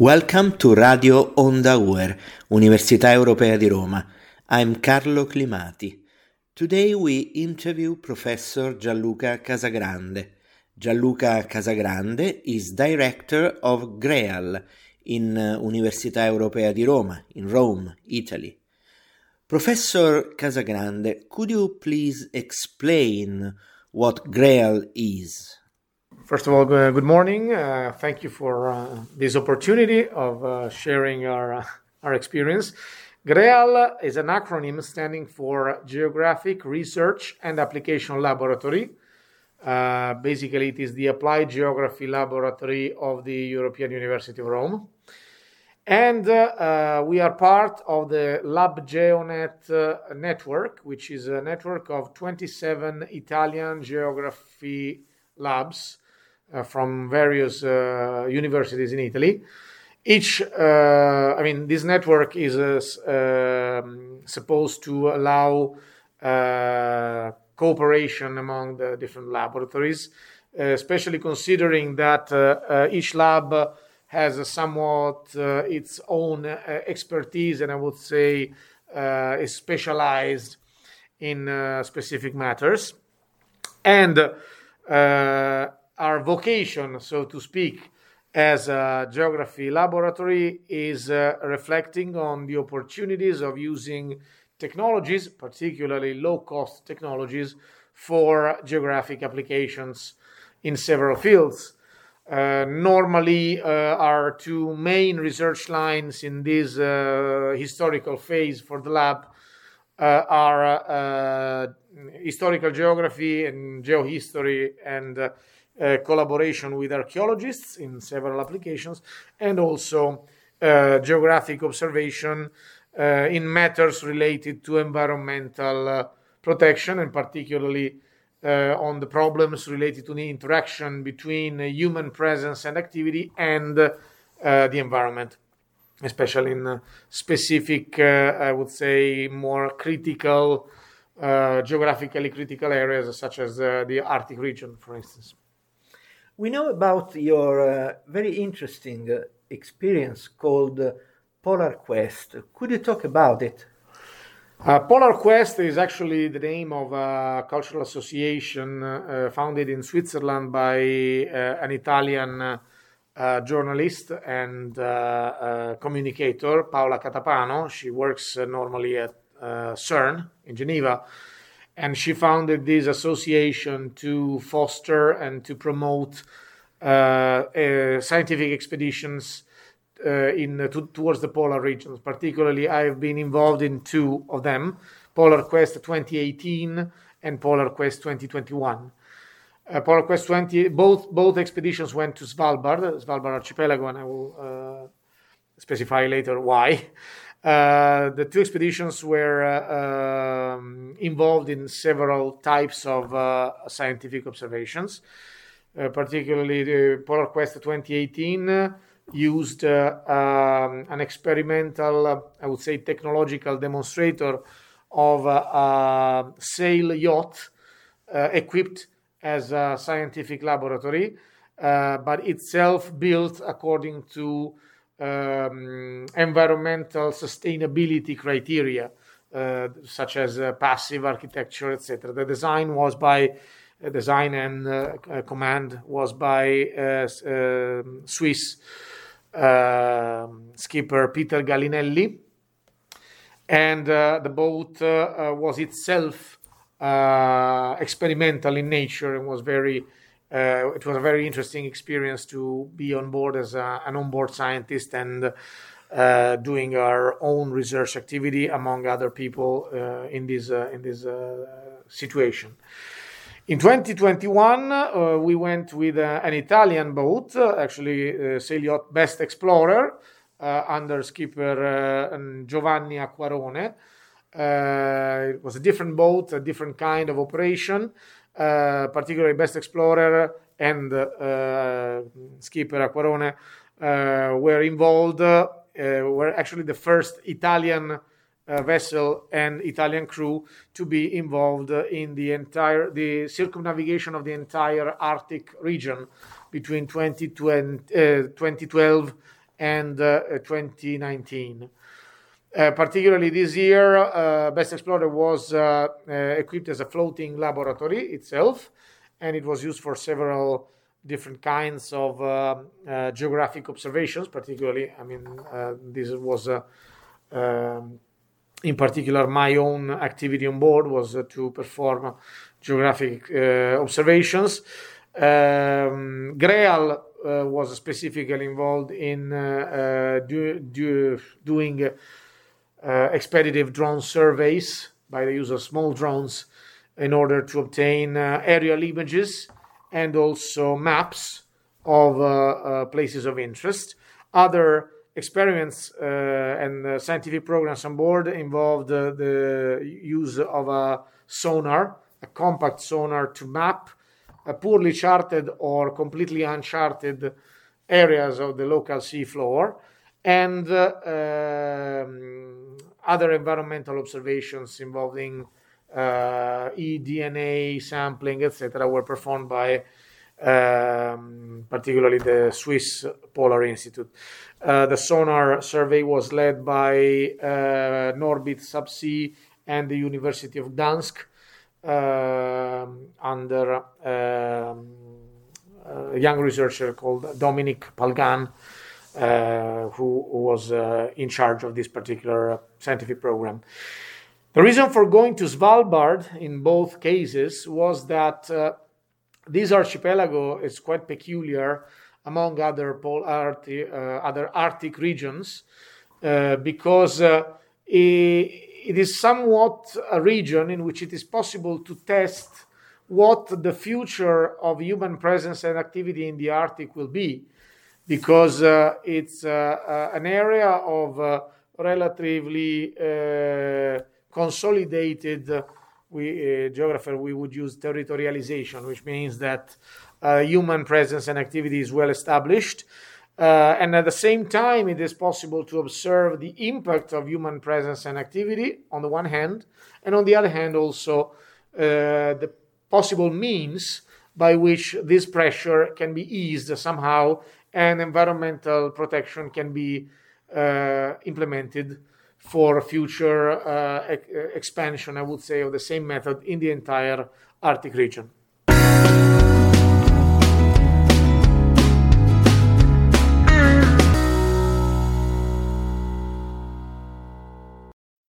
Welcome to Radio Onda UER, Università Europea di Roma. I'm Carlo Climati. Today we interview Professor Gianluca Casagrande. Gianluca Casagrande is Director of GREAL in Università Europea di Roma, in Rome, Italy. Professor Casagrande, could you please explain what GREAL is? First of all, good morning. Thank you for this opportunity of sharing our experience. GREAL is an acronym standing for Geographic Research and Application Laboratory. Basically, it is the Applied Geography Laboratory of the European University of Rome. And we are part of the LabGeoNet network, which is a network of 27 Italian geography labs from various universities in Italy. This network is supposed to allow cooperation among the different laboratories, especially considering that each lab has somewhat its own expertise, and I would say is specialized in specific matters. And our vocation, so to speak, as a geography laboratory is reflecting on the opportunities of using technologies, particularly low-cost technologies, for geographic applications in several fields. Normally, our two main research lines in this historical phase for the lab are historical geography and geohistory and collaboration with archaeologists in several applications, and also geographic observation in matters related to environmental protection, and particularly on the problems related to the interaction between human presence and activity and the environment, especially in specific, I would say, more critical, geographically critical areas such as the Arctic region, for instance. We know about your very interesting experience called Polar Quest. Could you talk about it? Polar Quest is actually the name of a cultural association founded in Switzerland by an Italian journalist and communicator, Paola Catapano. She works normally at CERN in Geneva. And she founded this association to foster and to promote scientific expeditions towards the polar regions. Particularly, I've been involved in two of them, Polar Quest 2018 and Polar Quest 2021. Polar Quest 20, both expeditions went to Svalbard archipelago, and I will specify later why. The two expeditions were involved in several types of scientific observations. Particularly, the Polar Quest 2018 used an experimental, I would say, technological demonstrator of a sail yacht equipped as a scientific laboratory, but itself built according to environmental sustainability criteria, such as passive architecture, etc. The design was by and command was by Swiss skipper Peter Gallinelli, and the boat was itself experimental in nature and was it was a very interesting experience to be on board as an onboard scientist and doing our own research activity among other people in this situation. In 2021, we went with an Italian boat, actually sail yacht Best Explorer, under skipper Giovanni Acquarone. It was a different boat, a different kind of operation. Particularly Best Explorer and skipper Acquarone were involved, were actually the first Italian vessel and Italian crew to be involved in the circumnavigation of the entire Arctic region between 2012 and 2019. Particularly this year, Best Explorer was equipped as a floating laboratory itself, and it was used for several different kinds of geographic observations. Particularly, this was in particular my own activity on board was to perform geographic observations. GREAL was specifically involved in doing expeditive drone surveys by the use of small drones in order to obtain aerial images and also maps of places of interest. Other experiments and scientific programs on board involved the use of a sonar, a compact sonar, to map poorly charted or completely uncharted areas of the local seafloor, and other environmental observations involving eDNA sampling, etc., were performed by particularly the Swiss Polar Institute. The sonar survey was led by Norbit Subsea and the University of Gdansk under a young researcher called Dominic Palgan, who was in charge of this particular scientific program. The reason for going to Svalbard in both cases was that this archipelago is quite peculiar among other Arctic regions because it is somewhat a region in which it is possible to test what the future of human presence and activity in the Arctic will be, because it's an area of relatively consolidated, geographer, we would use territorialization, which means that human presence and activity is well established. And at the same time, it is possible to observe the impact of human presence and activity on the one hand, and on the other hand also the possible means by which this pressure can be eased somehow and environmental protection can be implemented for future expansion, I would say, of the same method in the entire Arctic region.